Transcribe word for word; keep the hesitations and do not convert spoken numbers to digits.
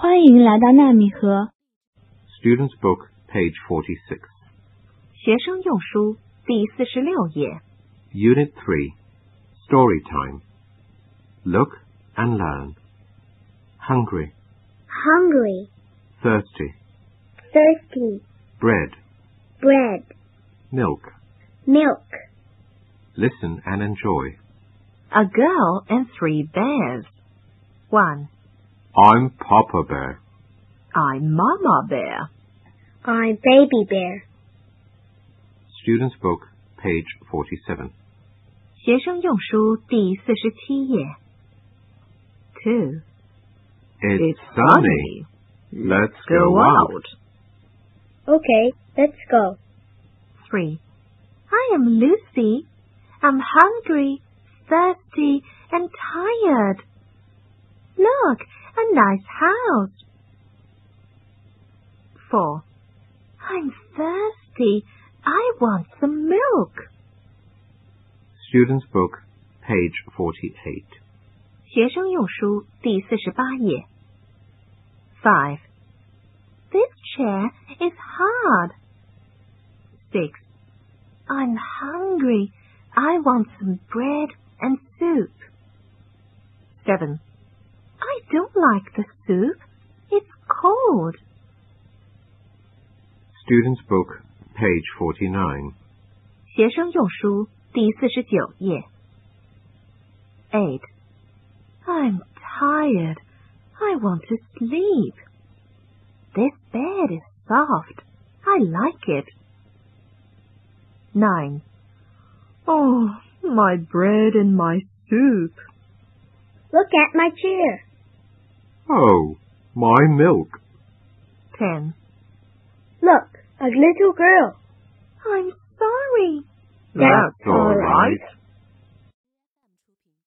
欢迎来到纳米河 Student's Book, page forty-six. 学生用书第四十六页 Unit three, Story Time. Look and learn. Hungry, Hungry, thirsty, thirsty, bread, bread, milk. milk. Listen and enjoy. A girl and three bears. One. I'm Papa Bear. I'm Mama Bear. I'm Baby Bear. Student's Book, page forty-seven. 学生用书第四十七页 Two. It's sunny. Let's go out. Okay, let's go. Three. I am Lucy. I'm hungry, thirsty, and tired. Look, a nice house. Four. I'm thirsty. I want some milk. Student's Book, page forty-eight. 学生用书第四十八页 Five. This chair is hard. Six. I'm hungry. I want some bread and soup. Seven. I don't like the soup. It's cold. Student's Book, page forty-nine. 学生用书第四十九页 Eight. I'm tired. I want to sleep. This bed is soft. I like it. Nine. Oh, my bread and my soup. Look at my chair. Oh, my milk. Ten. Look, a little girl. I'm sorry. That's all right.